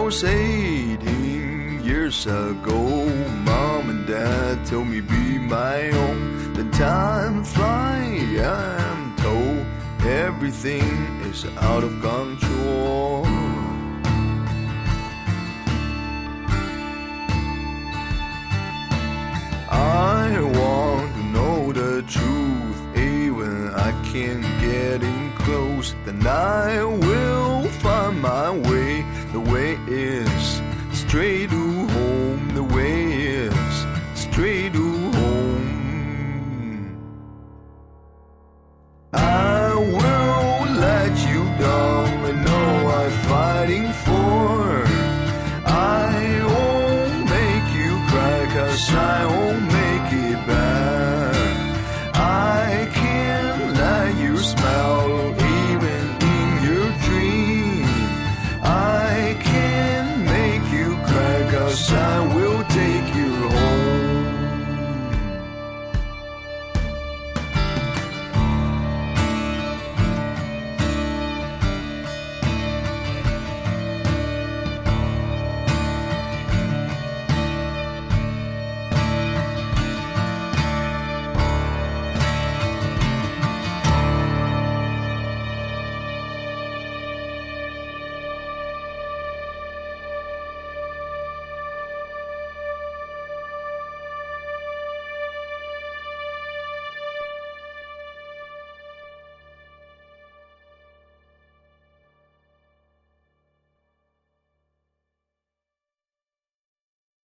was 18 years ago. Mom and Dad told me be my own. Then time flies, I'm told. Everything is out of control. I want to know the truth, even I can't get in close. Then I will find my way. The way is straight to home. The way is straight to home. I will let you down. I know I'm fighting for